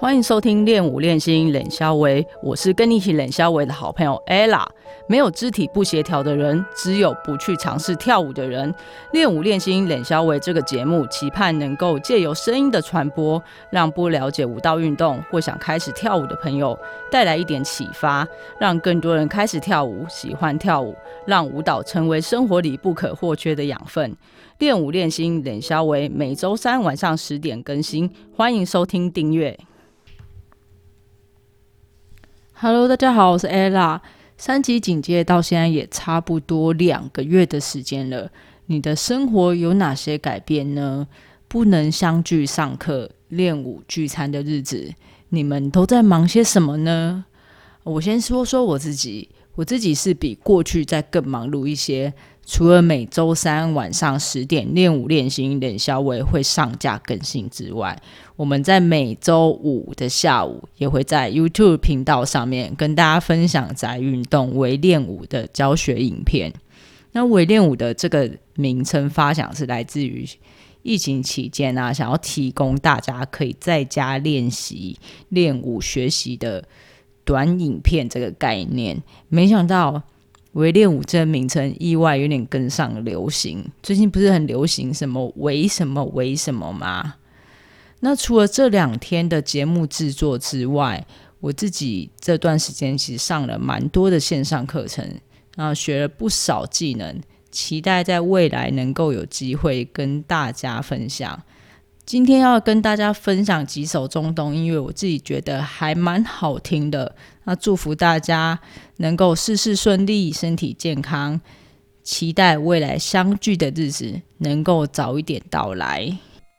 欢迎收听练舞练心冷肖维，我是跟你一起冷肖维的好朋友 Ella。 没有肢体不协调的人，只有不去尝试跳舞的人。练舞练心冷肖维这个节目期盼能够借由声音的传播，让不了解舞蹈运动或想开始跳舞的朋友带来一点启发，让更多人开始跳舞，喜欢跳舞，让舞蹈成为生活里不可或缺的养分。练舞练心冷肖维每周三晚上10点更新，欢迎收听订阅。Hello， 大家好，我是 Ella。 3级警戒到现在也差不多2个月的时间了，你的生活有哪些改变呢？不能相聚上课、练舞、聚餐的日子，你们都在忙些什么呢？我先说说我自己是比过去再更忙碌一些。除了每周三晚上10点练舞练心冷肖维会上架更新之外，我们在每周五的下午也会在 YouTube 频道上面跟大家分享宅运动微练舞的教学影片。那微练舞的这个名称发想是来自于疫情期间想要提供大家可以在家练习练舞学习的短影片这个概念。没想到微练舞这个名称意外有点跟上流行，最近不是很流行什么为什么为什么吗？那除了这2天的节目制作之外，我自己这段时间其实上了蛮多的线上课程，然后学了不少技能，期待在未来能够有机会跟大家分享。今天要跟大家分享几首中东音乐，我自己觉得还蛮好听的。那祝福大家能够事事顺利，身体健康，期待未来相聚的日子能够早一点到来。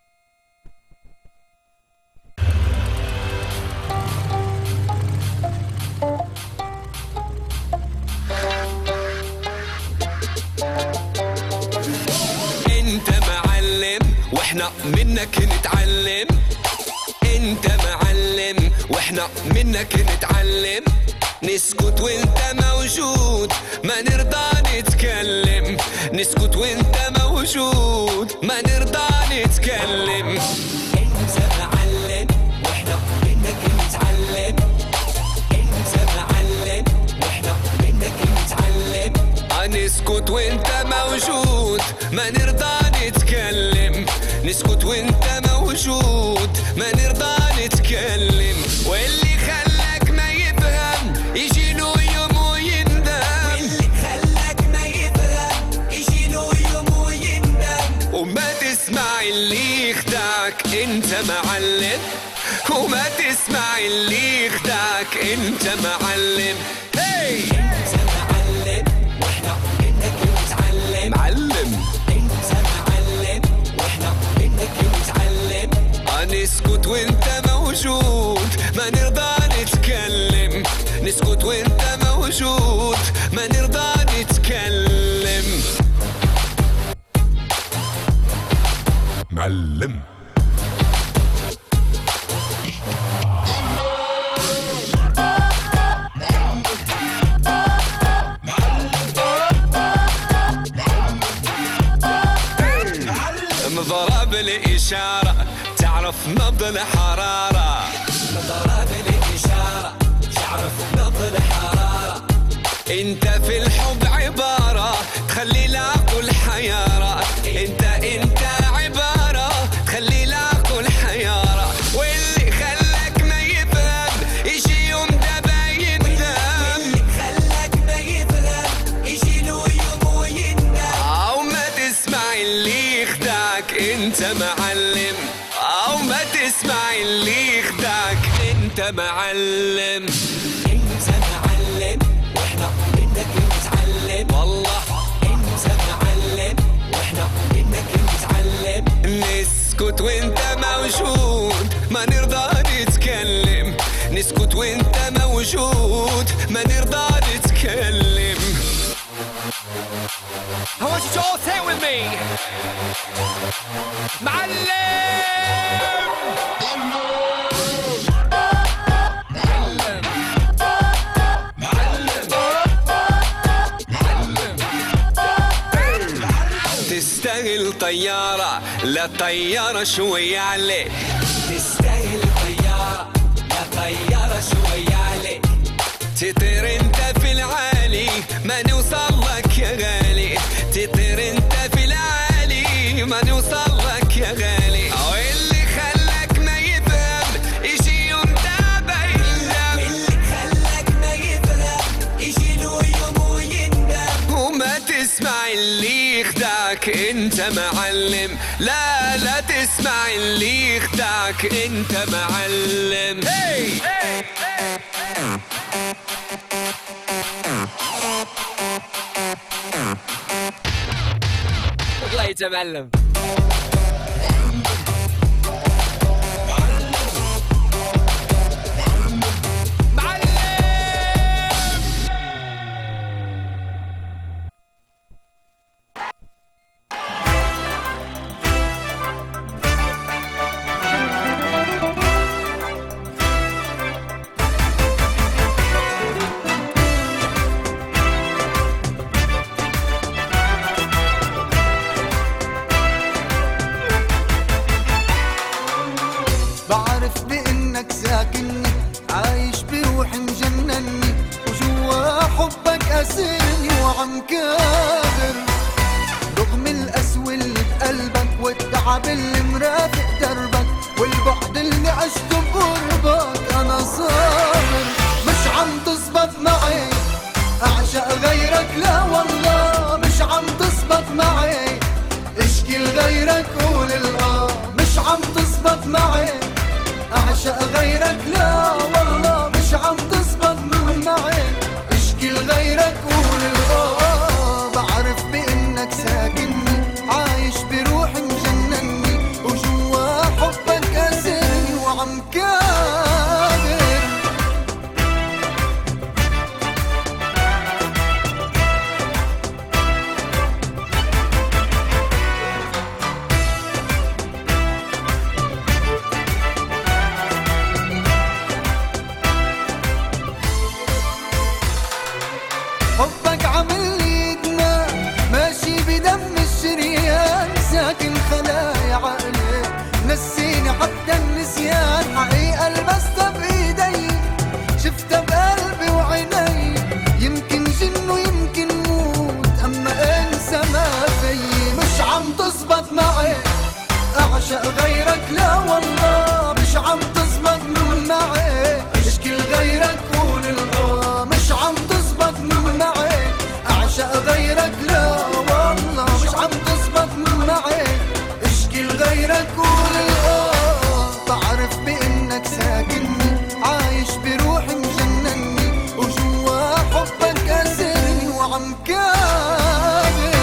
واحنا منك نتعلم، انت معلم واحنا منك نتعلم، نسكت وانت موجود ما نرضى نتكلم، نسكت وانت موجود ما نرضى نتكلم، انت معلم واحنا منك نتعلم، انت معلم واحنا منك نتعلم، نسكت وانت موجود ما نرضى نتكلم، نسكت وانت موجود ما نرضى نتكلم، واللي خلاك ما يفهم يجي له يوم ويندم، واللي خلاك ما يفهم يجي له يوم ويندم، وما تسمع اللي يخدعك انت معلم، وما تسمع اللي يخدعك انت معلم، هي انت معلم واحنا منك نتعلم، معلم انت معلم واحنا منك نتعلم، نسكت وانت موجود ما نرضى نتكلم، نسكت وانت موجود ما نرضى نتكلم، معلم مضرب الإشارة تعرف نبض الحرارة، مضرب الإشارة تعرف نبض الحرارة، انت في الحب عبارة تخلي العقل حيارة، انت عبارة تخلي العقل حيارة، واللي خلاك ما يفهم يجي يوم دابا يندم، واللي خلاك ما يفهم يجي له يوم ويندم، او ما تسمع اللي يخدعك انت معلم، او ما تسمع اللي يخدعك انت معلم، انت معلم واحنا منك نتعلم، والله انت معلم واحنا منك نتعلم، نسكت وانت موجود ما نرضى نتكلم، نسكت وانت موجود ما نرضى نتكلم. I want you to all say it with me. تستاهل طيارة لا طيارة شوية عليك، تستاهل طيارة شويالي تطير انت في العالي ما نوصل لك يا غالي تطير انت في العالي ما نوصل لك يا غالي واللي خلاك ما يفهم يجي يوم تابع يندم اللي خلاك ما يفهم يجي له يوم ويندم وما تسمع اللي يخدعك انت معلم لا تسمع اللي يخدعك انت معلم hey! الله يتمعلم بعرف بانك ساكنني عايش بروحي مجنني وجوا حبك اسرني وعم كابر رغم القسوة اللي بقلبك والتعب اللي مرافق دربك والبعد اللي عشته بقربك انا صابر مش عم تزبط معي اعشق غيرك لا والله مش عم تزبط معي اشكي لغيرك قول مش عم تزبط معي اعشق غيرك لا والله مش عم تزبط معي اشكي لغيرك قول بعرف بانك ساكنني عايش بروحي مجنني وجوا حبك اسرني وعم كابر حبك عامل لي ادمان ماشي بدم الشريان ساكن خلايا عقلي نسيني حتى النسيان حقيقة لمستها بايدي شفتها بقلبي وعيني يمكن جن ويمكن موت اما انسى ما فيي مش عم تزبط معي اعشق غيرك لا والله مش عم تزبط معي اشكي لغيرك قول مش عم تزبط معي اعشق غيرك لا والله مش عم تزبط معي اشكي لغيرك قول بعرف بانك ساكنني عايش بروحي مجنني وجوا حبك اسرني وعم كابر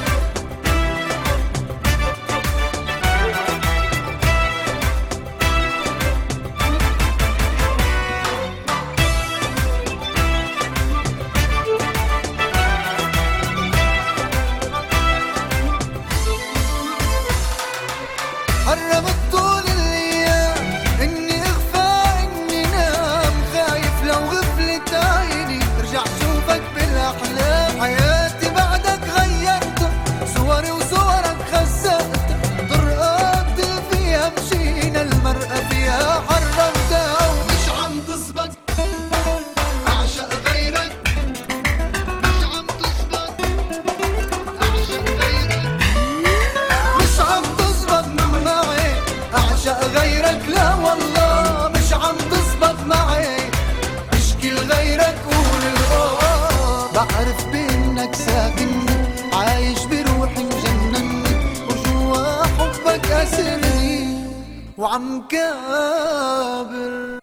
قربت طول الايام اني اغفى اني نام خايف لو غفلت عيني ارجع شوفك بالاحلام حياتي بعدك غيرتها صوري وصورك خسرتها طرقات فيها مشينا المرأة فيها حرمتها ومش عم تزبط اعشق غيرك مش عم تزبط اعشق غيرك مش عم تزبط معي اعشق غيرك لا والله مش عم تزبط معي اشكي لغيرك قول بعرف بانك ساكنني عايش بروحي مجنني وجوا حبك اسرني وعم كابر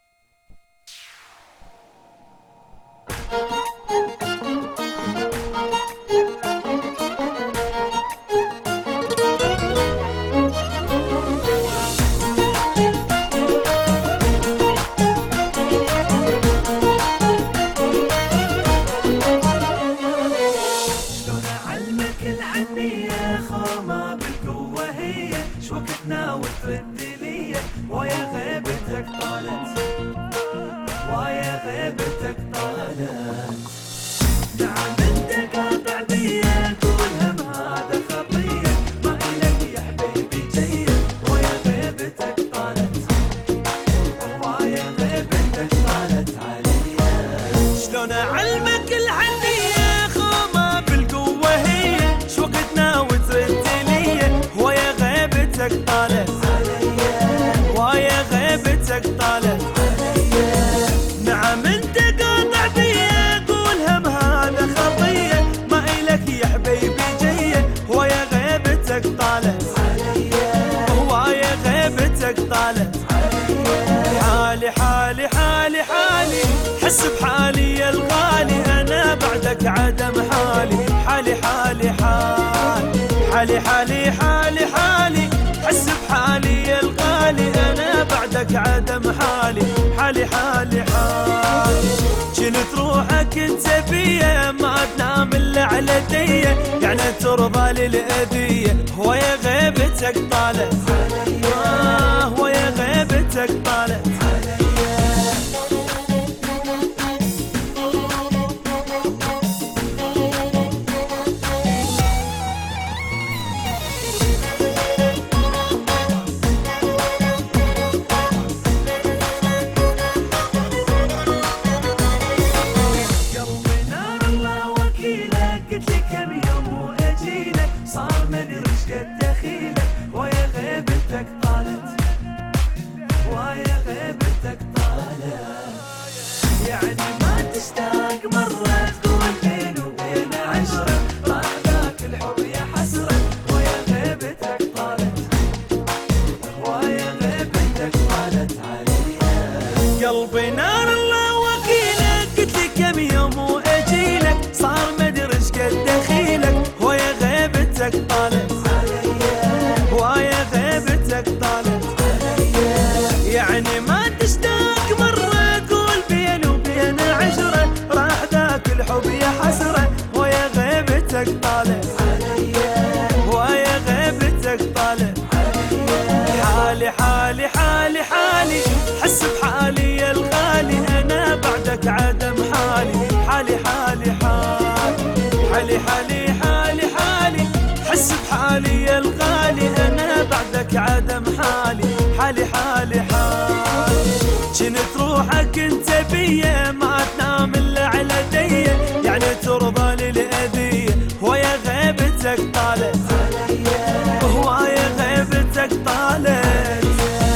شلون اعلمك العنية خامة بالقوة هي شوقتنا وترد لي ويا غيبتك طالت ويا غيبتك طالت نعم انت قاطع بيا كل هم هذا خطية ما إلك يا حبيبي جيد ويا غيبتك طالت ويا غيبتك طالت حس بحالي يا الغالي أنا بعدك عدم حالي. حالي حالي حالي حالي حالي حالي حس بحالي يا الغالي أنا بعدك عدم حالي. حالي حالي حالي كنت روحك انت بيا ما تنام الا على ديه، يعني ترضى للأذية ويا غيبتك طالت ويا غيبتك طالت. قلبي نار الله وكيلك قلت لي كم يوم واجيلك صار ما ادري ايش قد دخيلك ويا غيبتك طالت ويا غيبتك طالت. يعني ما تشتاق مرة قول بيني وبين عشرة راح ذاك الحب يا حسرة ويا غيبتك طالت ويا غيبتك طالت. حالي حالي حالي حالي حس بحالي يا الغالي أنا بعدك عدم حالي. حالي حالي حالي حالي حالي حالي حس بحالي يا الغالي أنا بعدك عدم حالي. حالي حالي حالي كنت روحك انت بيا ما تنام الا على ديه، يعني ترضى للأذية ويا غيبتك طالت ويا غيبتك طالت.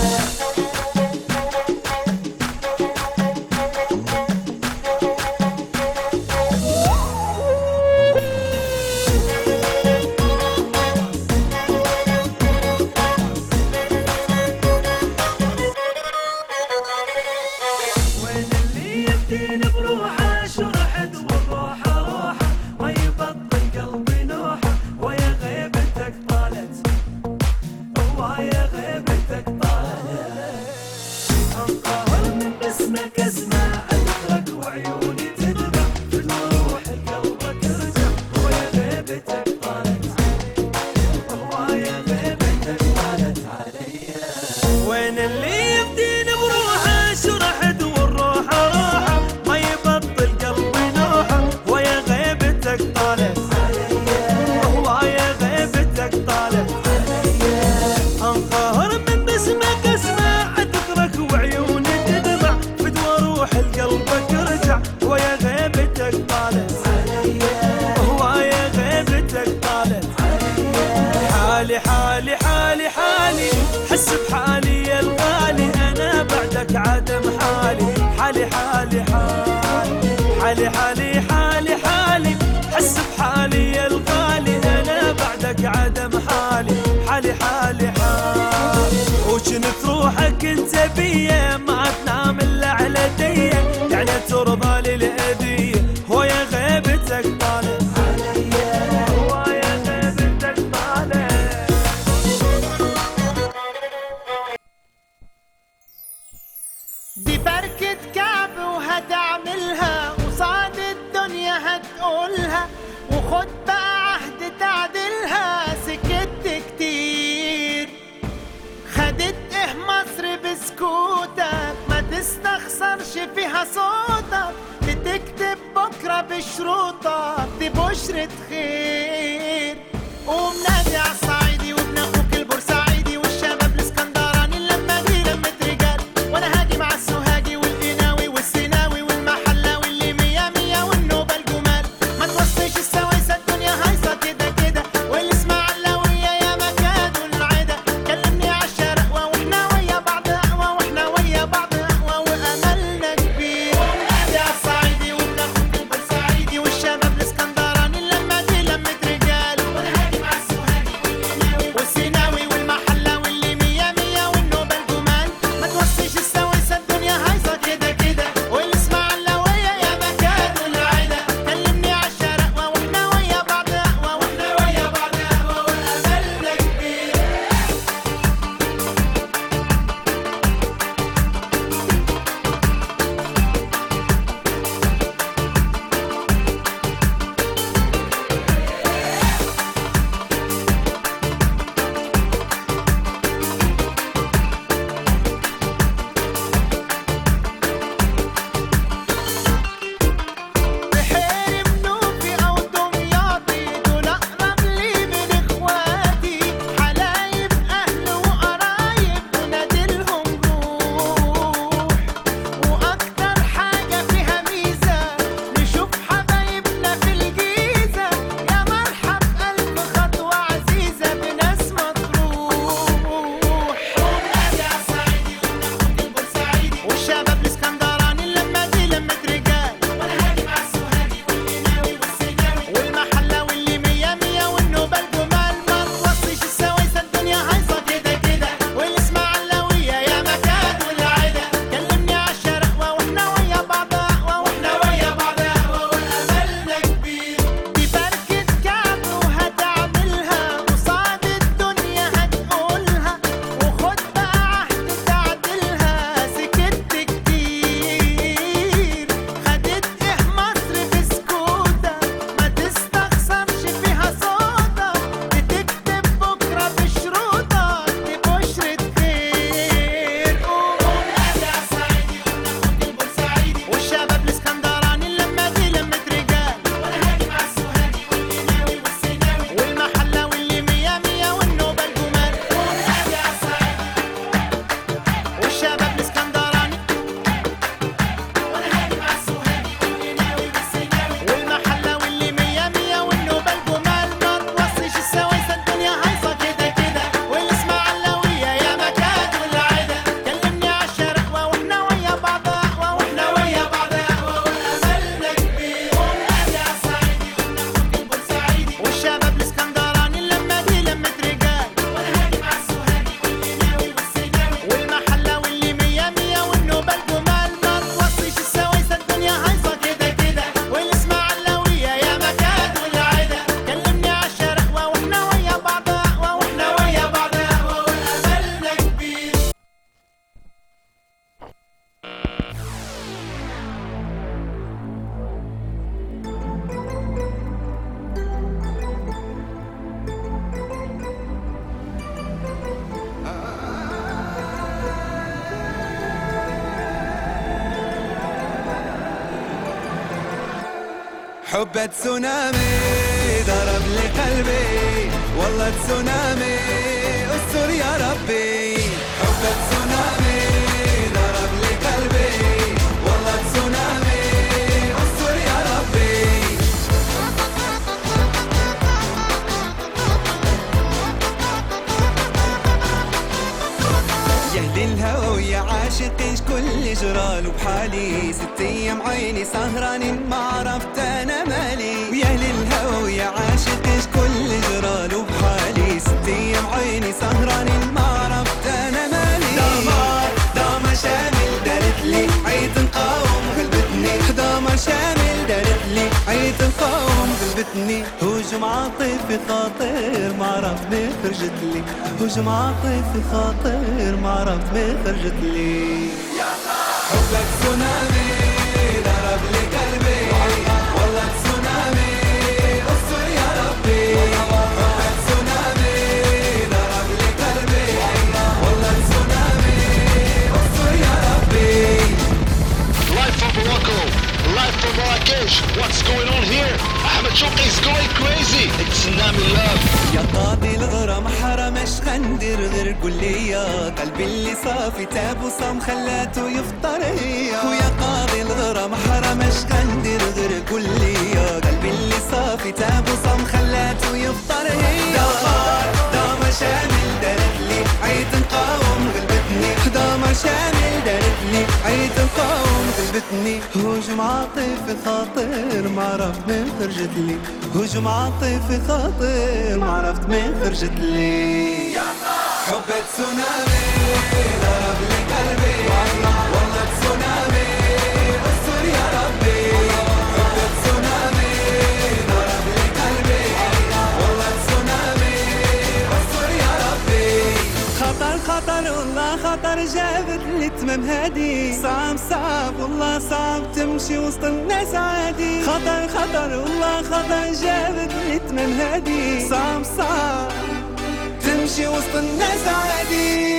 وين اللي يفديني بروحه شرحت والروحه روحه ما يبطل قلبي نوحه ويا غيبتك طالت ويا غيبتك طالت. انقهر من باسمك اسمع اذكرك وعيوني تدمع فدوى روح القلبك ارجع ويا غيبتك طالت ويا غيبتك طالت. حالي حالي حالي حالي حس بحالي يا الغالي أنا بعدك عدم حالي. حالي حالي حالي حالي حالي حالي حس بحالي يا الغالي أنا بعدك عدم حالي. حالي حالي حالي وكنت روحك انت بيا ما تنام الا على ديه، يعني ترضى للأذية ويا غيبتك طالت ويا غيبتك طالت. دي فركة كعب وهتعملها قصاد الدنيا هتقولها وخد بقى عهد تعدلها. سكت كتير خدت ايه مصر بسكوتك ما تستخسرش فيها صوتك بتكتب بكرة بشروطك دي بشرة خير. قوم نادي عالصعيدي وابن اخوك البورسعيدي والشباب الاسكندراني لما دي لمة رجال وانا هاجي مع السوهاجي والقناوي والسيناوي والمحلاوي اللي مية مية والنوبة الجمال. ما توصيش السويسة الدنيا هايصة كده كده والاسماعيلاوية يا مكان العدا. كلمني عالشرقوة واحنا ويا بعض اقوى واحنا ويا بعض اقوى واملنا كبير. نادي عالصعيدي وابن اخوك البورسعيدي والشباب الاسكندراني لما دي لمة رجال وانا هاجي مع السوهاجي حب تسونامي ضرب لي قلبي والله تسونامي استر يا ربي حب تسونامي ضرب لي قلبي والله تسونامي استر يا ربي يا اهل الهوى يا عاشقين كل جرال وبحالي 6 ايام عيني سهرانين ما عرفت انا مالي ويا اهل الهوى يا عاشقين كل جرال وبحالي 6 ايام عيني سهرانين ما عرفت انا مالي دمار شامل دارت لي عيد نقاوم قلبتني دمار شامل دارت لي عيد نقاوم قلبتني هجوم عاطفي خاطر ما عرفت ما خرجت لي هجوم عاطفي خاطر ما عرفت ما خرجت لي حبك تسونامي ضرب لي قلبي والله تسونامي استر يا ربي حبك تسونامي ضرب لي قلبي والله تسونامي استر يا ربي Live from Morocco, live from Marrakesh. What's going on here? Ahmed Shouqi is going crazy. It's Tsunami Love. يا قاضي الغرام حرمش غندير غير قول لي يا قلبي اللي صافي تاب وصام خلاته يفطر هي ويا قاضي الغرام حرمش غندير غير قول لي يا قلبي اللي صافي تاب وصام خلاته يفطر هي دمار شامل دارت لي عيد نقاوم قلبتني دمار شامل دارت لي عيد نقاوم قلبتني هجوم عاطفي خاطر ما عرفت من خرجت لي هجوم عاطفي خاطر ما عرفت من خرجت لي حب تسونامي ضرب لي قلبي والله تسونامي استر يا ربي حب تسونامي ضرب لي قلبي والله تسونامي استر يا ربي خطر والله خطر جابت لي تمام هادي صعب والله صعب تمشي وسط الناس عادي خطر والله خطر جابت لي تمام هادي صعب تمشي وسط الناس عادي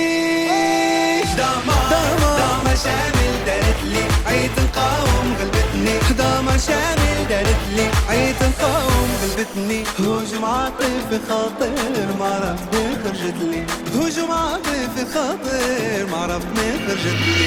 دمار شامل دارت لي عيد نقاوم قلبتني دمار شامل دارت لي عيد نقاوم قلبتني هجوم عاطفي خاطر ما عرفت ما خرجت لي هجوم عاطفي خاطر ما عرفت ما خرجت لي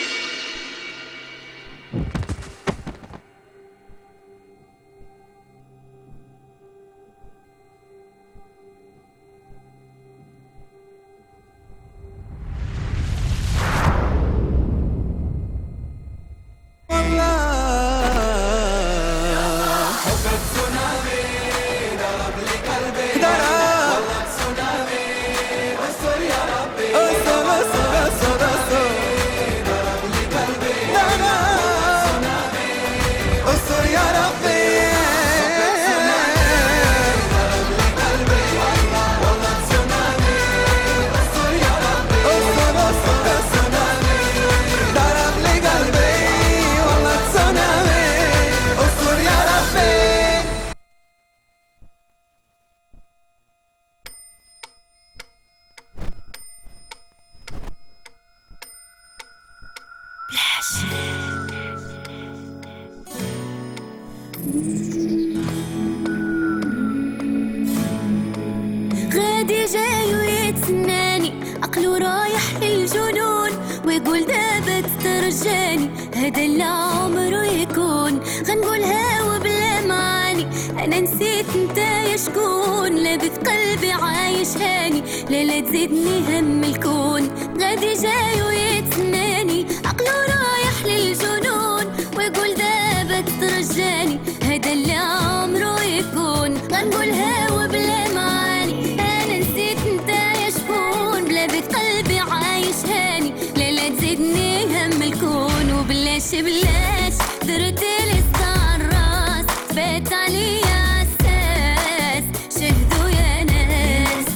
غادي جاي ويتسناني عقلو رايح للجنون ويقول دابا ترجاني هذا اللي عمره يكون غنقولها وبلا معاني انا نسيت انت يا شكون لابث قلبي عايش هاني لا تزيدني هم الكون غادي جاي ويتسناني عقلو رايح للجنون ويقول دابا ترجاني هذا اللي عمره يكون غنقولها وبلا معاني انا نسيت انت يا شكون بلابث قلبي عايش هاني لا تزيدني هم الكون وبلاش درت لي الصار راس فات عليا عساس شهدوا يا ناس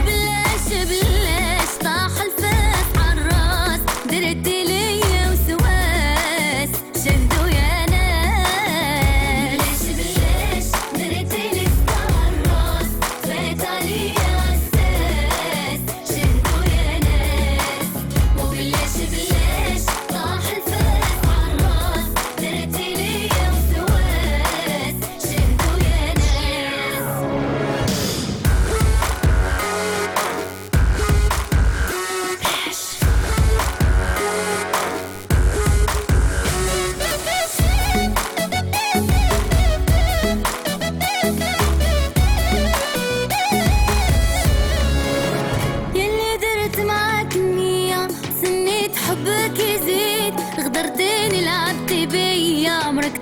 وبلاش طاح الفاس عالراس درت لي وسواس شهدوا يا ناس بلاش درت لي الصار راس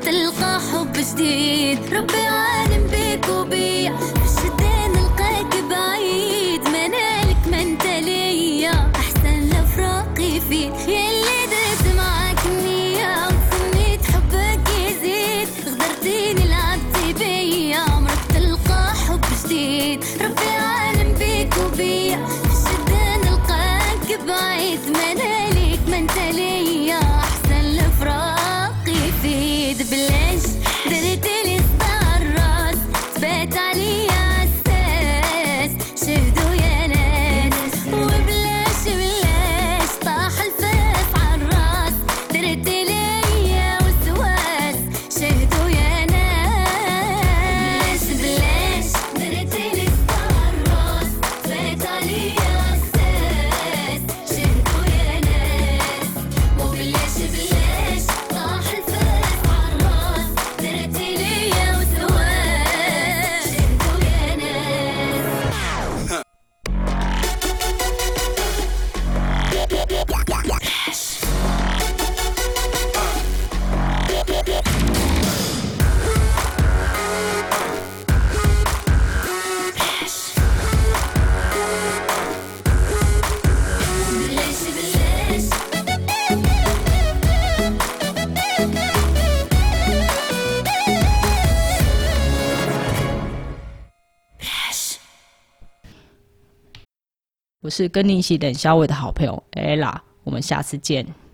تلقى حب جديد. ربي عالم بيك وبيا في الشدة نلقاك بعيد. منالك ما انت ليا احسن لفراقي فيك. يلي درت معاك النية وتسميت حبك يزيد. غدرتيني لعبتي بيا عمرك تلقى حب جديد. ربي عالم بيك وبيا في الشدة نلقاك بعيد. منالك ما انت ليا احسن لفراقي فيد. بلاش درتلي صداع الراس تبات عليا عالساس. شهدوا يا ناس وبلاش بلاش طاح الفاس عالراس. درتلي وسواس شهدوا يا ناس. بلاش درتلي صداع الراس تبات عليا عالساس. شهدوا يا ناس وبلاش بلاش طاح الفاس عالراس. درتلي وسواس شهدوا يا ناس. بلاش بلاش 我是跟你一起冷消委的好朋友 Ella，我们下次见。